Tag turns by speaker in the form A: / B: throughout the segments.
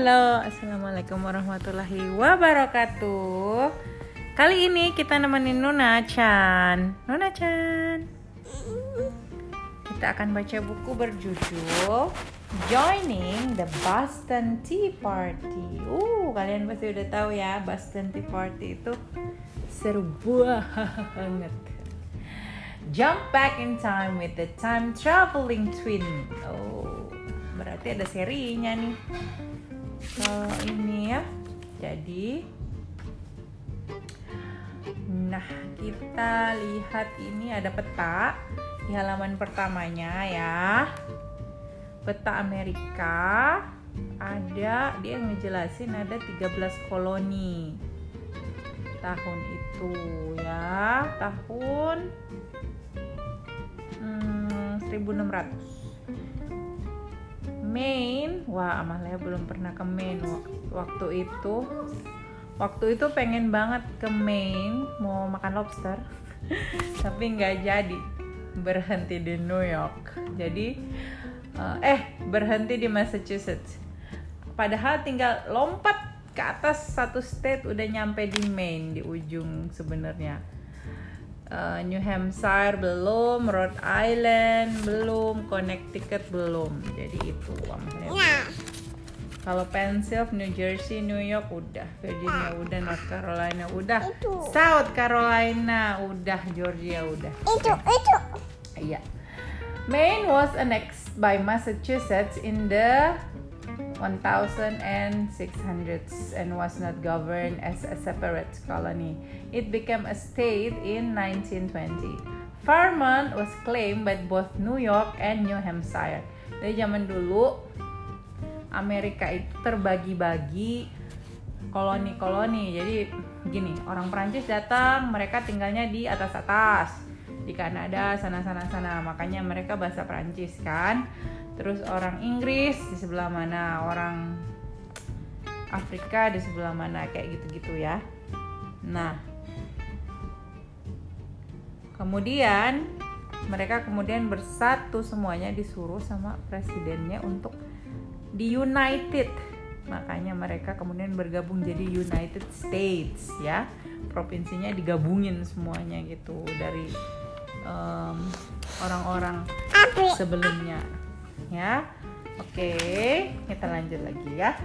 A: Halo, assalamualaikum warahmatullahi wabarakatuh. Kali ini kita nemenin Nuna Chan. Kita akan baca buku berjudul Joining the Boston Tea Party. Kalian pasti udah tahu ya, Boston Tea Party itu seru banget. Jump back in time with the time traveling twin. Berarti ada serinya nih. Kalau ini ya. Jadi kita lihat ini ada peta di halaman pertamanya ya. Peta Amerika. Ada dia ngejelasin ada 13 koloni. Tahun itu ya, tahun 1600. Maine, Amalia belum pernah ke Maine waktu itu pengen banget ke Maine mau makan lobster tapi nggak jadi, berhenti di New York. Jadi berhenti di Massachusetts, padahal tinggal lompat ke atas satu state udah nyampe di Maine di ujung sebenarnya. New Hampshire belum, Rhode Island belum, Connecticut belum. Jadi itu Kalau Pennsylvania, New Jersey, New York udah, Virginia udah, North Carolina udah, South Carolina udah, Georgia udah. Itu. Iya. Maine was annexed by Massachusetts in the 1600s and was not governed as a separate colony. It became a state in 1920. Vermont was claimed by both New York and New Hampshire. Dari zaman dulu Amerika itu terbagi-bagi koloni-koloni. Jadi gini, orang Perancis datang, mereka tinggalnya di atas-atas, di Kanada sana. Makanya mereka bahasa Perancis kan. Terus orang Inggris di sebelah mana, orang Afrika di sebelah mana, kayak gitu-gitu ya. Nah, kemudian mereka bersatu semuanya, disuruh sama presidennya untuk di United. Makanya mereka kemudian bergabung jadi United States ya. Provinsinya digabungin semuanya gitu dari orang-orang sebelumnya. Ya, oke, kita lanjut lagi ya.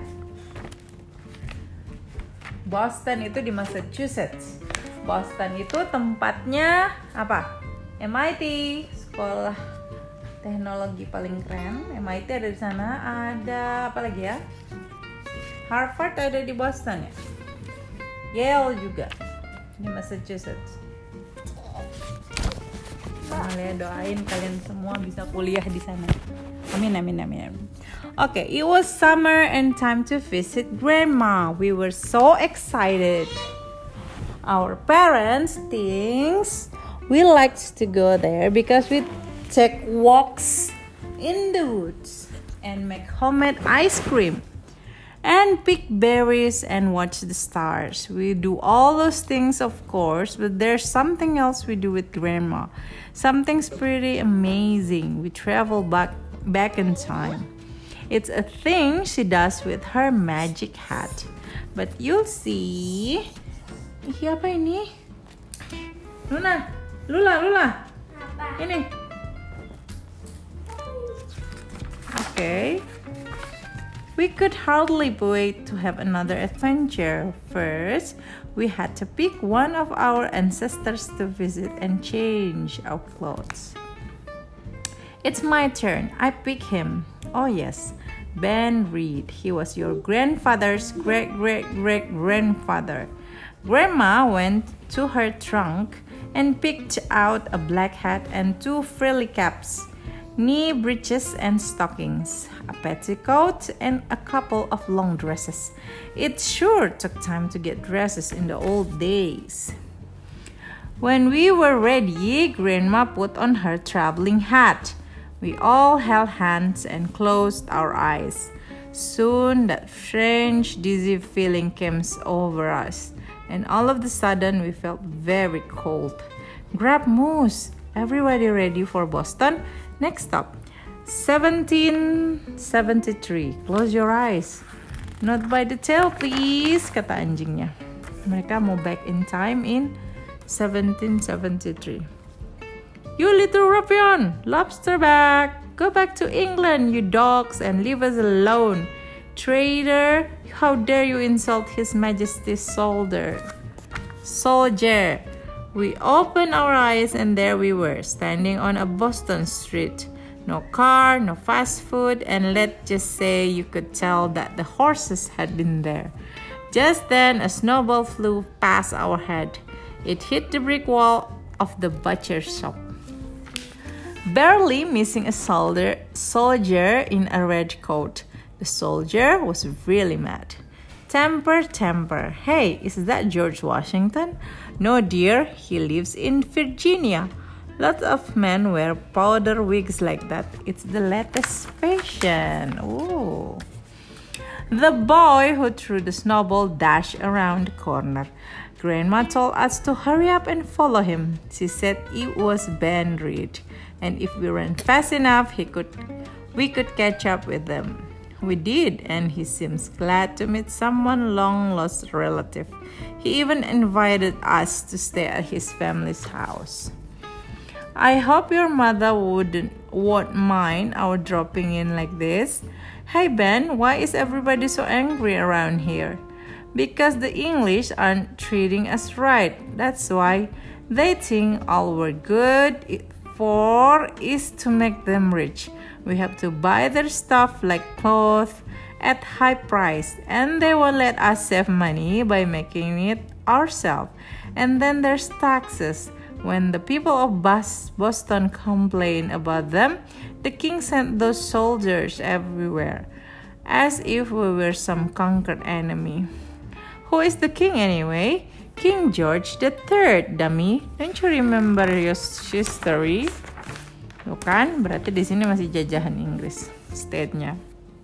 A: Boston itu di Massachusetts. Boston itu tempatnya apa? MIT, sekolah teknologi paling keren. MIT ada di sana. Ada apa lagi ya? Harvard ada di Boston ya. Yale juga di Massachusetts. Amalia doain kalian semua bisa kuliah di sana. Amin. Okay, it was summer and time to visit Grandma. We were so excited. Our parents thinks we liked to go there because we take walks in the woods and make homemade ice cream and pick berries and watch the stars. We do all those things, of course, but there's something else we do with Grandma. Something's pretty amazing. We travel back in time. It's a thing she does with her magic hat. But you'll see. Apa ini? Lula. Apa? Ini. Okay. We could hardly wait to have another adventure. First, we had to pick one of our ancestors to visit and change our clothes. It's my turn. I pick him. Oh yes, Ben Reed. He was your grandfather's great-great-great-grandfather. Grandma went to her trunk and picked out a black hat and 2 frilly caps, knee breeches and stockings, a petticoat and a couple of long dresses. It sure took time to get dresses in the old days. When we were ready, Grandma put on her traveling hat. We all held hands and closed our eyes. Soon that strange, dizzy feeling came over us, and all of a sudden we felt very cold. Grab moose. Everybody ready for Boston? Next stop, 1773. Close your eyes. Not by the tail, please, kata anjingnya. Mereka mau back in time in 1773. You little ruffian, lobster bag, go back to England, you dogs, and leave us alone. Traitor, how dare you insult His Majesty's soldier. We opened our eyes and there we were, standing on a Boston street. No car, no fast food, and let's just say you could tell that the horses had been there. Just then, a snowball flew past our head. It hit the brick wall of the butcher shop, barely missing a soldier in a red coat. The soldier was really mad. Temper. Hey, is that George Washington? No, dear, he lives in Virginia. Lots of men wear powder wigs like that. It's the latest fashion. Ooh. The boy who threw the snowball dashed around the corner. Grandma told us to hurry up and follow him. She said it was Ben Reed, and if we ran fast enough, we could catch up with them. We did, and he seems glad to meet someone long-lost relative. He even invited us to stay at his family's house. I hope your mother won't mind our dropping in like this. Hey Ben, why is everybody so angry around here? Because the English aren't treating us right. That's why they think all we're good for is to make them rich. We have to buy their stuff like clothes at high price, and they won't let us save money by making it ourselves. And then there's taxes. When the people of Boston complain about them, the king sent those soldiers everywhere, as if we were some conquered enemy. Who is the king anyway? King George III, dummy. Don't you remember your history? Tuh kan, berarti di sini masih jajahan Inggris state-nya.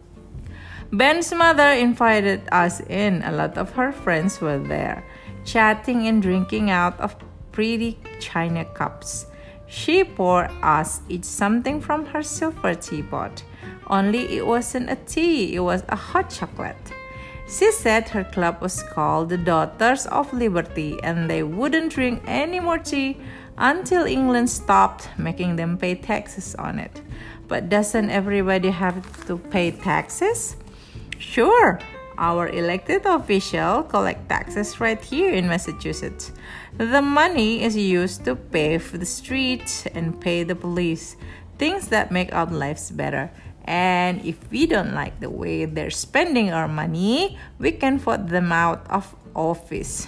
A: Ben's mother invited us in. A lot of her friends were there, chatting and drinking out of pretty china cups. She poured us each something from her silver teapot. Only it wasn't a tea, it was a hot chocolate. She said her club was called the Daughters of Liberty, and they wouldn't drink any more tea until England stopped making them pay taxes on it. But doesn't everybody have to pay taxes? Sure, our elected officials collect taxes right here in Massachusetts. The money is used to pave the streets and pay the police, things that make our lives better. And if we don't like the way they're spending our money, we can vote them out of office.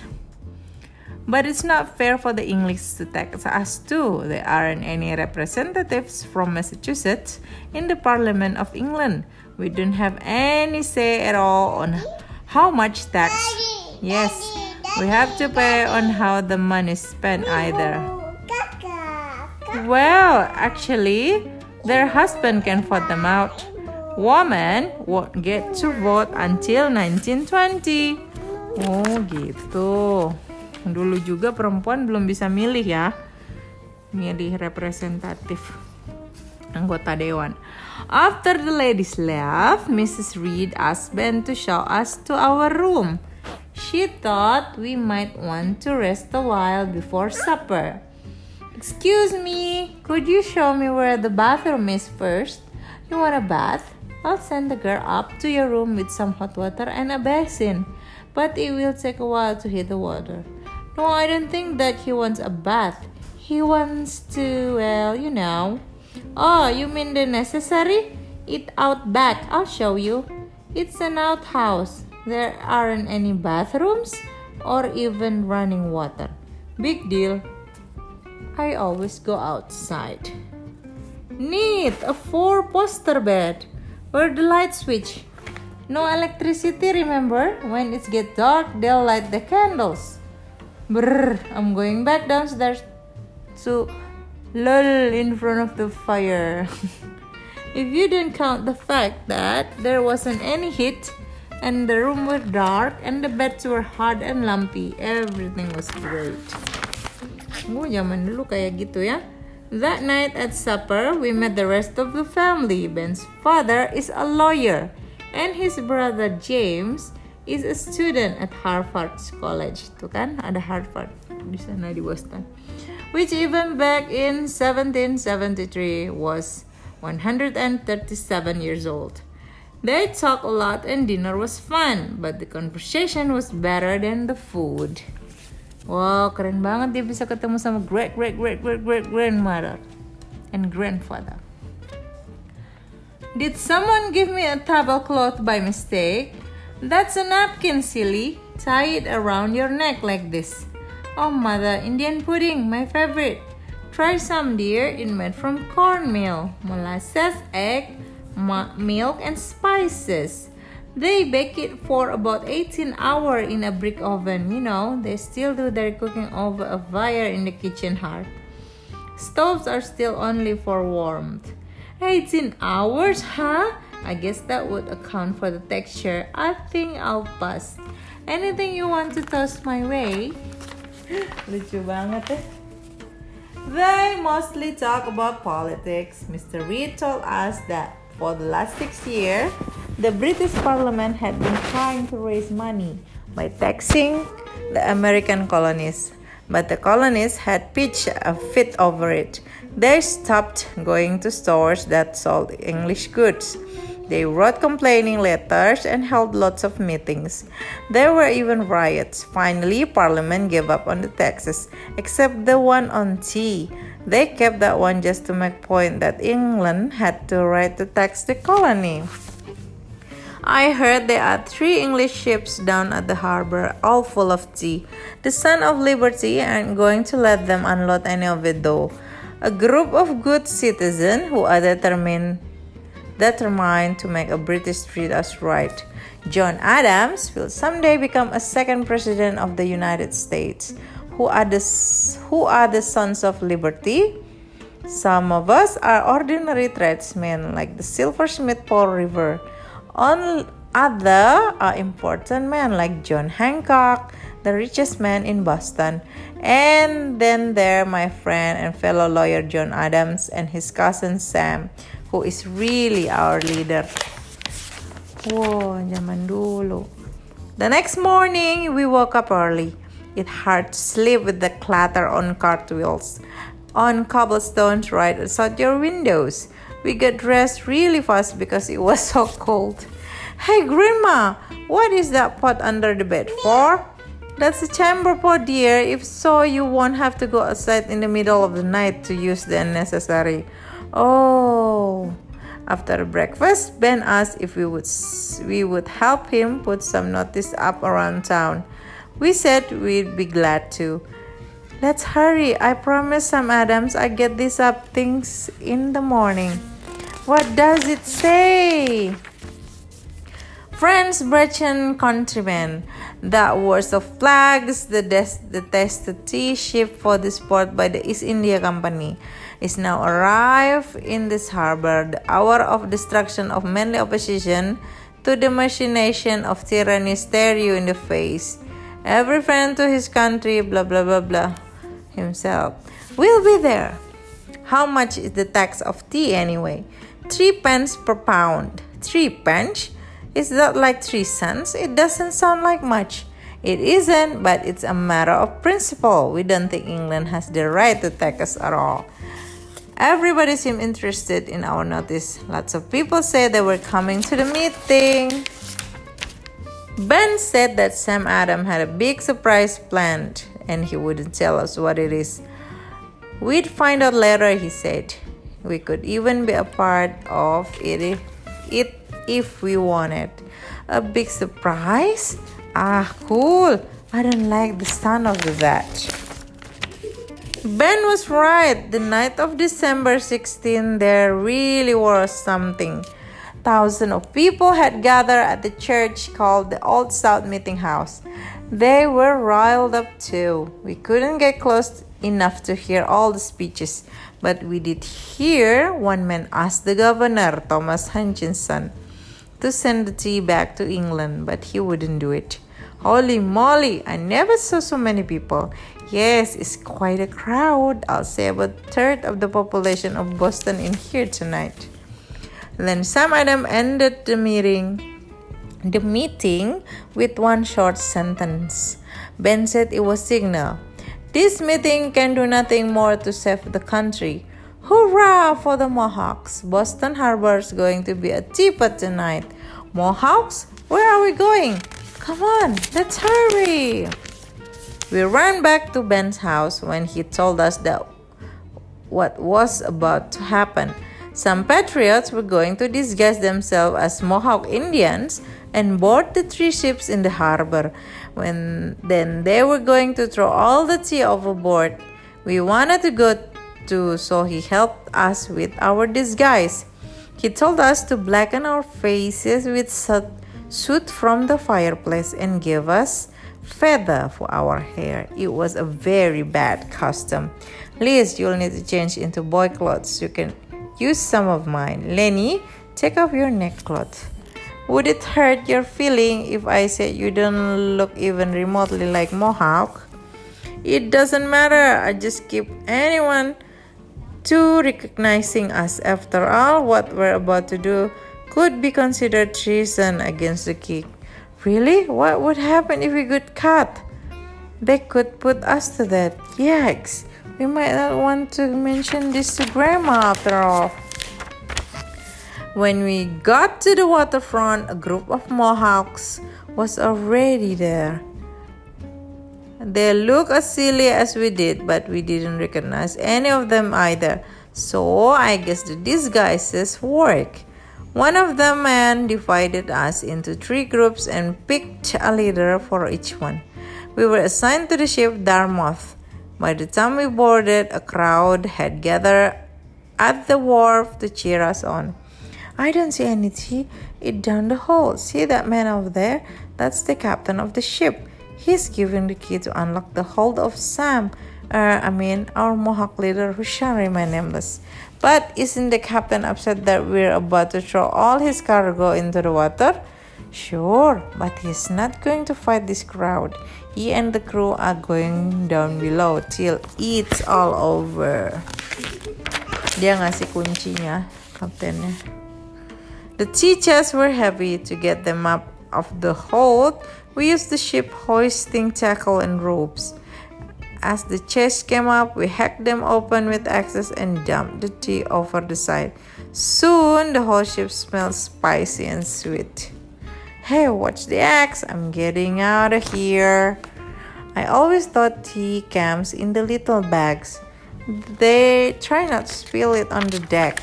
A: But it's not fair for the English to tax us too. There aren't any representatives from Massachusetts in the Parliament of England. We don't have any say at all on how much tax. Yes, we have to pay on how the money is spent either. Well, actually, their husband can vote them out. Women won't get to vote until 1920. Oh gitu. Dulu juga perempuan belum bisa milih ya. Milih representatif anggota dewan. After the ladies left, Mrs. Reed asked Ben to show us to our room. She thought we might want to rest a while before supper. Excuse me, could you show me where the bathroom is first? You want a bath? I'll send the girl up to your room with some hot water and a basin. But it will take a while to heat the water. No, I don't think that he wants a bath. He wants to, well, you know. Oh, you mean the necessary? It out back. I'll show you. It's an outhouse. There aren't any bathrooms or even running water. Big deal. I always go outside. Neat, a 4-poster bed. Where the light switch? No electricity, remember? When it gets dark, they'll light the candles. Brrr, I'm going back downstairs to lull in front of the fire. If you didn't count the fact that there wasn't any heat and the room was dark and the beds were hard and lumpy, everything was great. Zaman dulu kayak gitu ya. That night at supper, we met the rest of the family. Ben's father is a lawyer, And his brother James is a student at Harvard College. Tuh kan, ada Harvard di sana di Boston. Which even back in 1773 was 137 years old. They talked a lot and dinner was fun, but the conversation was better than the food. Wow, keren banget dia bisa ketemu sama great grandmother and grandfather. Did someone give me a tablecloth by mistake? That's a napkin, silly. Tie it around your neck like this. Oh, mother, Indian pudding, my favorite. Try some, dear. It's made from cornmeal, molasses, egg, milk, and spices. They bake it for about 18 hours in a brick oven. You know, they still do their cooking over a fire in the kitchen hearth. Stoves are still only for warmth. 18 hours, huh? I guess that would account for the texture. I think I'll pass. Anything you want to toss my way? Lucu banget ya. They mostly talk about politics. Mr. Reed told us that for the last 6 years, the British Parliament had been trying to raise money by taxing the American colonies. But the colonists had pitched a fit over it. They stopped going to stores that sold English goods. They wrote complaining letters and held lots of meetings. There were even riots. Finally, Parliament gave up on the taxes, except the one on tea. They kept that one just to make point that England had the right to tax the colony. I heard there are 3 English ships down at the harbor, all full of tea. The Son of Liberty aren't going to let them unload any of it though. A group of good citizens who are determined to make a British treat us right. John Adams will someday become a second president of the United States. Who are the sons of liberty? Some of us are ordinary tradesmen like the silversmith Paul Revere. Other are important men like John Hancock, the richest man in Boston. And then there my friend and fellow lawyer John Adams and his cousin Sam, who is really our leader. Wow, zaman dulu. The next morning, we woke up early. It's hard to sleep with the clatter on cartwheels on cobblestones right outside your windows. We got dressed really fast because it was so cold. Hey, Grandma, what is that pot under the bed for? That's a chamber pot, dear. If so, you won't have to go outside in the middle of the night to use the unnecessary. Oh. After breakfast, Ben asked if we would help him put some notice up around town. We said we'd be glad to. Let's hurry. I promised Sam Adams I'd get these up things in the morning. What does it say? Friends, brethren, countrymen, that worst of flags, the tested tea ship for this port by the East India Company is now arrived in this harbor. The hour of destruction of manly opposition to the machination of tyranny stare you in the face. Every friend to his country, blah blah blah blah, himself. We'll be there. How much is the tax of tea anyway? 3 pence per pound. 3 pence? Is that like 3 cents? It doesn't sound like much. It isn't, but it's a matter of principle. We don't think England has the right to tax us at all. Everybody seemed interested in our notice. Lots of people said they were coming to the meeting. Ben said that Sam Adams had a big surprise planned, and he wouldn't tell us what it is. We'd find out later, he said. We could even be a part of it if we wanted. A big surprise? Ah, cool. I don't like the sound of that. Ben was right. The night of December 16, there really was something. Thousands of people had gathered at the church called the Old South Meeting House. They were riled up too. We couldn't get close enough to hear all the speeches, but we did hear one man ask the governor, Thomas Hutchinson, to send the tea back to England, but he wouldn't do it. Holy moly, I never saw so many people. Yes, it's quite a crowd. I'll say about a third of the population of Boston in here tonight. Then Sam Adams ended the meeting the meeting with one short sentence. Ben said it was signal. This meeting can do nothing more to save the country. Hurrah for the Mohawks! Boston Harbor's going to be a teapot tonight. Mohawks? Where are we going? Come on, let's hurry! We ran back to Ben's house when he told us that what was about to happen. Some patriots were going to disguise themselves as Mohawk Indians and board the 3 ships in the harbor. Then they were going to throw all the tea overboard. We wanted to go too, so he helped us with our disguise. He told us to blacken our faces with soot from the fireplace and gave us feather for our hair. It was a very bad costume. Liz, you'll need to change into boy clothes. You can use some of mine. Lenny, take off your neckcloth. Would it hurt your feeling if I said you don't look even remotely like Mohawk? It doesn't matter. I just keep anyone to recognizing us. After all, what we're about to do could be considered treason against the king. Really? What would happen if we got caught? They could put us to death. Yikes. We might not want to mention this to Grandma after all. When we got to the waterfront, a group of Mohawks was already there. They looked as silly as we did, but we didn't recognize any of them either. So I guess the disguises work. One of the men divided us into 3 groups and picked a leader for each one. We were assigned to the ship Dartmouth. By the time we boarded, a crowd had gathered at the wharf to cheer us on. I don't see any tea. It's down the hall. See that man over there? That's the captain of the ship. He's giving the key to unlock the hold of Sam. Our Mohawk leader who shall remain nameless. But isn't the captain upset that we're about to throw all his cargo into the water? Sure, but he's not going to fight this crowd. He and the crew are going down below till it's all over. Dia ngasih kuncinya, kaptennya. The tea chests were heavy. To get them up of the hold, we used the ship hoisting tackle and ropes. As the chests came up, we hacked them open with axes and dumped the tea over the side. Soon, the whole ship smelled spicy and sweet. Hey, watch the axe. I'm getting out of here. I always thought tea comes in the little bags. They try not to spill it on the deck.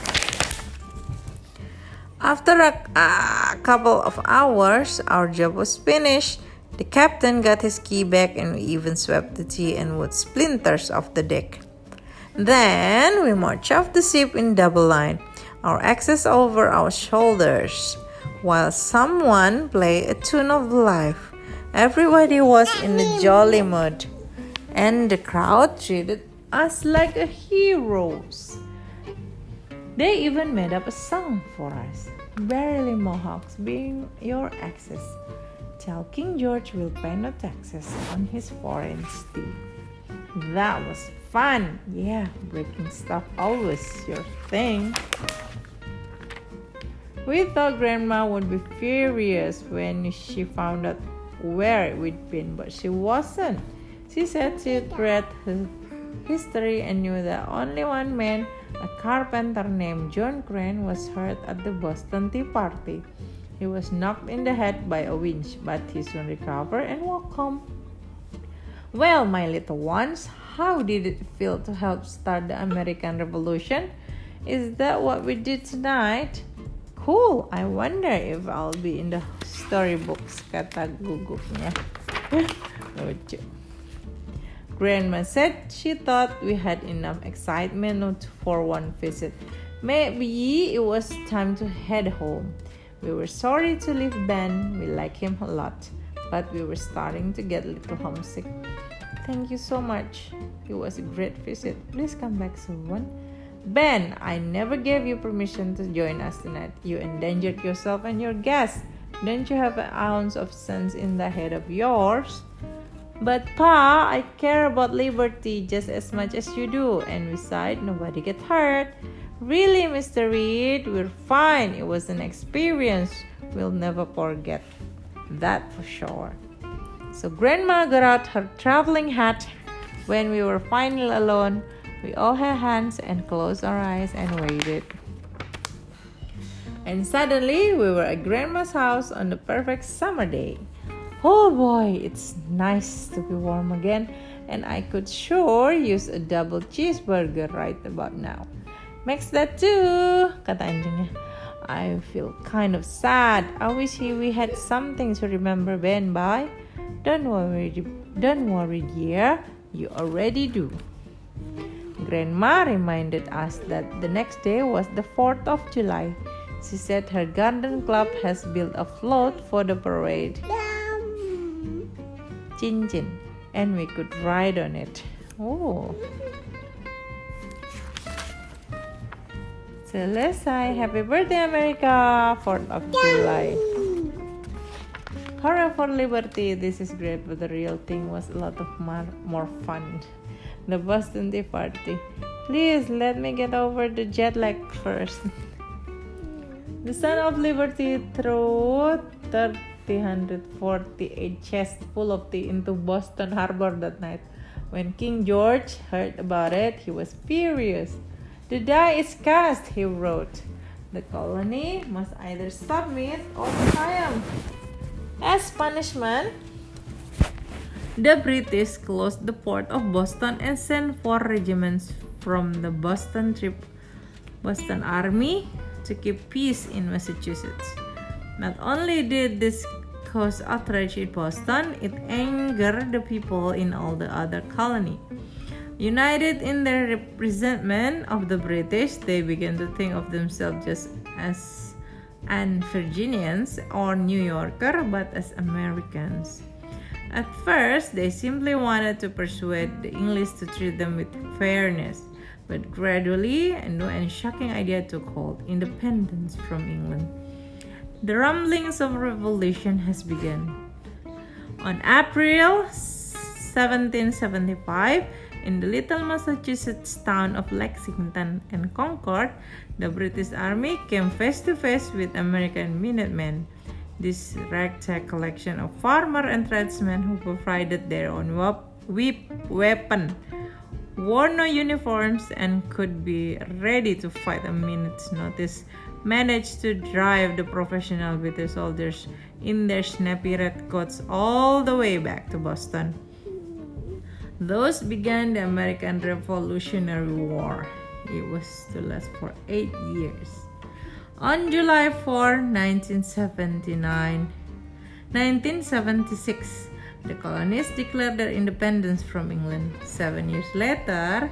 A: After a couple of hours, our job was finished. The captain got his key back and we even swept the tea and wood splinters off the deck. Then we marched off the ship in double line, our axes over our shoulders, while someone played a tune of life. Everybody was in a jolly mood, and the crowd treated us like heroes. They even made up a song for us. Verily, Mohawks, being your axes, tell King George will pay no taxes on his foreign steed. That was fun. Yeah, breaking stuff always your thing. We thought Grandma would be furious when she found out where we'd been, but she wasn't. She said she'd read her history and knew that only one man, a carpenter named John Crane, was hurt at the Boston Tea Party. He was knocked in the head by a winch, but he soon recovered and walked home. Well, my little ones, how did it feel to help start the American Revolution? Is that what we did tonight? Cool. I wonder if I'll be in the storybooks, kata gugupnya. Lucu. Grandma said she thought we had enough excitement for one visit. Maybe it was time to head home. We were sorry to leave Ben. We like him a lot, but we were starting to get a little homesick. Thank you so much. It was a great visit. Please come back soon. Ben, I never gave you permission to join us tonight. You endangered yourself and your guests. Don't you have an ounce of sense in the head of yours? But Pa, I care about liberty just as much as you do. And besides, nobody get hurt. Really, Mr. Reed, we're fine. It was an experience we'll never forget. that for sure. So Grandma got out her traveling hat. When we were finally alone, we all had hands and closed our eyes and waited. And suddenly, we were at Grandma's house on the perfect summer day. Oh boy, it's nice to be warm again, and I could sure use a double cheeseburger right about now. Makes that too, kata anjingnya. I feel kind of sad. I wish we had something to remember Ben by. Don't worry, dear. You already do. Grandma reminded us that the next day was the 4th of July. She said her garden club has built a float for the parade. Chin, and we could ride on it. Oh. Selesai. Happy birthday, America. 4th of July. Hurrah for liberty. This is great, but the real thing was a lot of more fun. The Boston Tea Party. Please let me get over the jet lag first. The Son of Liberty threw 348 chests full of tea into Boston Harbor that night. When King George heard about it, he was furious. The die is cast, he wrote. The colony must either submit or triumph. As punishment, the British closed the port of Boston and sent 4 regiments from the Boston Army to keep peace in Massachusetts. Not only did this cause outrage in Boston, it angered the people in all the other colony. United in their resentment of the British, they began to think of themselves just as Virginians or New Yorker, but as Americans. At first, they simply wanted to persuade the English to treat them with fairness. But gradually, a new and shocking idea took hold: independence from England. The rumblings of revolution has begun. On April 1775, in the little Massachusetts town of Lexington and Concord, the British Army came face to face with American Minutemen. This ragtag collection of farmer and tradesmen who provided their own weapon, wore no uniforms, and could be ready to fight a minute's notice, managed to drive the professional British soldiers in their snappy red coats all the way back to Boston. Thus began the American Revolutionary War. It was to last for 8 years. On July 4, 1976, the colonies declared their independence from England. 7 years later,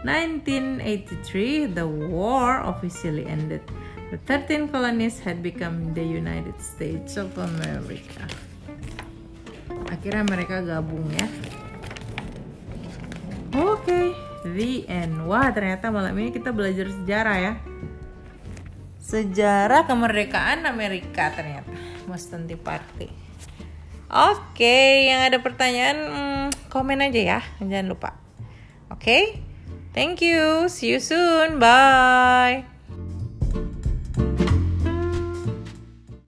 A: 1983, the war officially ended. The 13 colonies had become the United States of America. Akhirnya mereka gabung ya. Oke, the end. Wah, ternyata malam ini kita belajar sejarah ya. Sejarah kemerdekaan Amerika ternyata. Boston Tea Party. Oke, yang ada pertanyaan komen aja ya, jangan lupa. Oke, thank you, see you soon, bye.